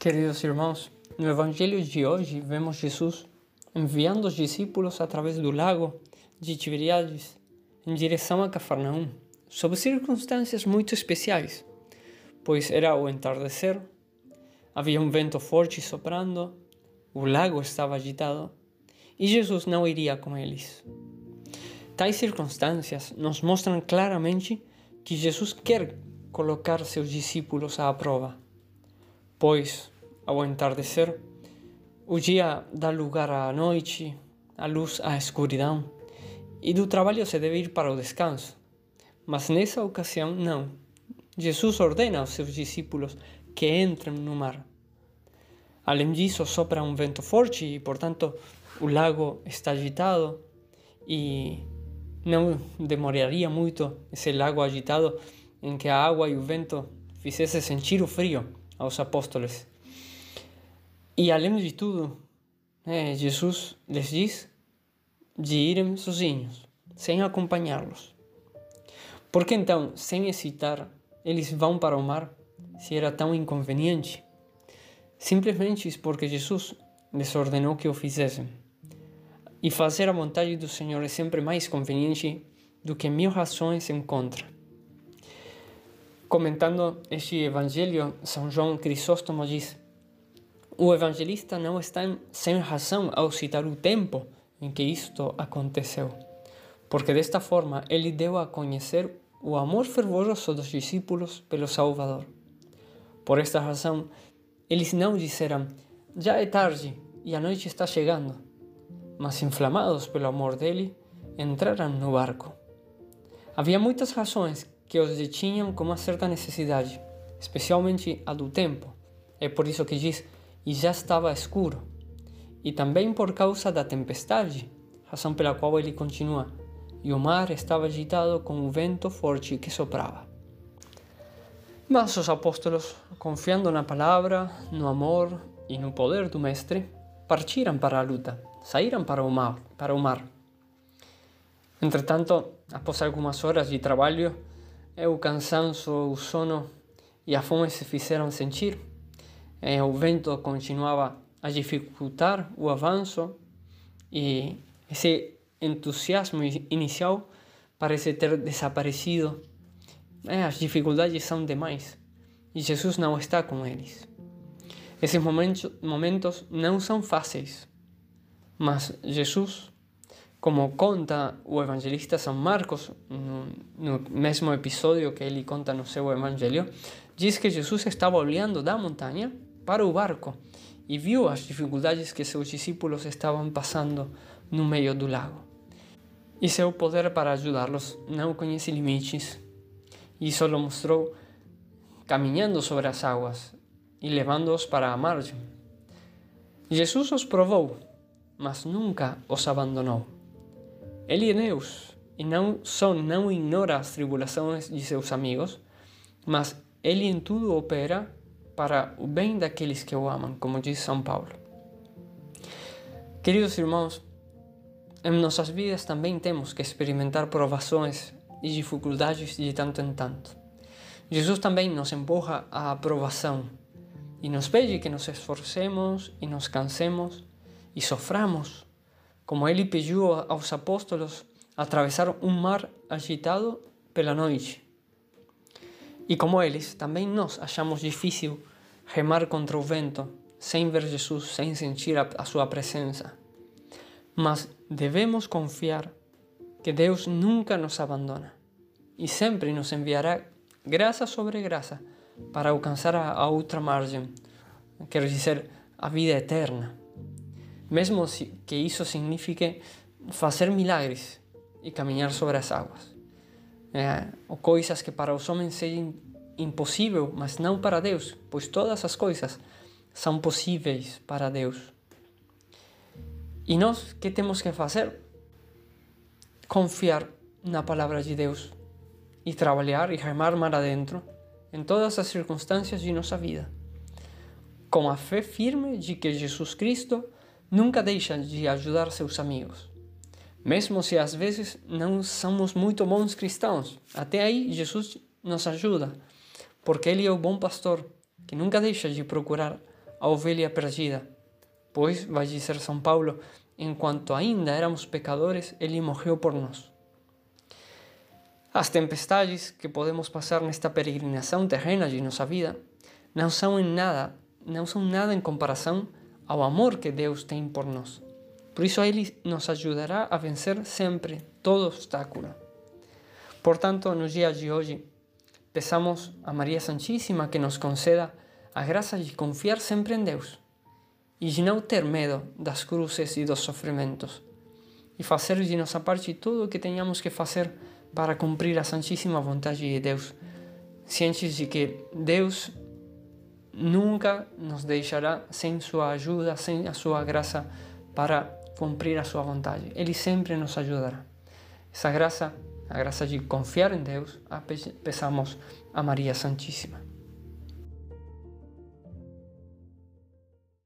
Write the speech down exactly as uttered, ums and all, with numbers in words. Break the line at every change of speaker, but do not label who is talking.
Queridos irmãos, no Evangelho de hoje vemos Jesus enviando os discípulos através do lago de Tiberíades em direção a Cafarnaum, sob circunstâncias muito especiais, pois era o entardecer, havia um vento forte soprando, o lago estava agitado e Jesus não iria com eles. Tais circunstâncias nos mostram claramente que Jesus quer colocar seus discípulos à prova, pois, ao entardecer, o dia dá lugar à noite, a luz à escuridão, e do trabalho se deve ir para o descanso. Mas nessa ocasião, não. Jesus ordena aos seus discípulos que entrem no mar. Além disso, sopra um vento forte e, portanto, o lago está agitado e não demoraria muito esse lago agitado em que a água e o vento fizessem sentir o frio aos apóstolos. E além de tudo, é, Jesus lhes diz de irem sozinhos, sem acompanhá-los. Por que então, sem hesitar, eles vão para o mar, se era tão inconveniente? Simplesmente porque Jesus lhes ordenou que o fizessem. E fazer a vontade do Senhor é sempre mais conveniente do que mil razões em contra. Comentando este evangelho, São João Crisóstomo diz: o evangelista não está sem razão ao citar o tempo em que isto aconteceu, porque desta forma ele deu a conhecer o amor fervoroso dos discípulos pelo Salvador. Por esta razão, eles não disseram: já é tarde e a noite está chegando, mas inflamados pelo amor dele, entraram no barco. Havia muitas razões que os detinham com uma certa necessidade, especialmente a do tempo. É por isso que diz: e já estava escuro. E também por causa da tempestade, razão pela qual ele continua: e o mar estava agitado com o vento forte que soprava. Mas os apóstolos, confiando na palavra, no amor e no poder do Mestre, partiram para a luta, saíram para o mar. Para o mar. Entretanto, após algumas horas de trabalho, o cansaço, o sono e a fome se fizeram sentir. O vento continuava a dificultar o avanço e esse entusiasmo inicial parece ter desaparecido. As dificuldades são demais e Jesus não está com eles. Esses momentos, momentos não são fáceis, mas Jesus, como conta o evangelista São Marcos, no, no mesmo episódio que ele conta no seu evangelho, diz que Jesus estava olhando da montanha para o barco e viu as dificuldades que seus discípulos estavam passando no meio do lago. E seu poder para ajudá-los não conhece limites. Isso o mostrou caminhando sobre as águas e levando-os para a margem. Jesus os provou, mas nunca os abandonou. Ele é Deus e não só não ignora as tribulações de seus amigos, mas ele em tudo opera para o bem daqueles que o amam, como diz São Paulo. Queridos irmãos, em nossas vidas também temos que experimentar provações e dificuldades de tanto em tanto. Jesus também nos empurra à aprovação e nos pede que nos esforcemos e nos cansemos e soframos, como ele pediu aos apóstolos atravessar um mar agitado pela noite. E como eles, também nós achamos difícil remar contra o vento, sem ver Jesus, sem sentir a, a sua presença. Mas devemos confiar que Deus nunca nos abandona e sempre nos enviará graça sobre graça para alcançar a, a outra margem, quer dizer, a vida eterna. Mesmo que isso signifique fazer milagres e caminhar sobre as águas. É, ou coisas que para os homens sejam impossível, mas não para Deus, pois todas as coisas são possíveis para Deus. E nós, que temos que fazer? Confiar na palavra de Deus e trabalhar e remar mar adentro em todas as circunstâncias de nossa vida, com a fé firme de que Jesus Cristo nunca deixa de ajudar seus amigos. Mesmo se às vezes não somos muito bons cristãos, até aí Jesus nos ajuda, porque Ele é o bom pastor, que nunca deixa de procurar a ovelha perdida. Pois, vai dizer São Paulo, enquanto ainda éramos pecadores, Ele morreu por nós. As tempestades que podemos passar nesta peregrinação terrena de nossa vida não são em nada, não são nada em comparação ao amor que Deus tem por nós. Por isso Ele nos ajudará a vencer sempre todo obstáculo. Portanto, no dia de hoje, peçamos a Maria Santíssima que nos conceda a graça de confiar sempre em Deus e de não ter medo das cruzes e dos sofrimentos, e fazer de nossa parte tudo o que tenhamos que fazer para cumprir a santíssima vontade de Deus, cientes de que Deus nunca nos deixará sem sua ajuda, sem a sua graça para cumprir a sua vontade. Ele sempre nos ajudará. Essa graça, a graça de confiar em Deus, a peçamos a Maria Santíssima.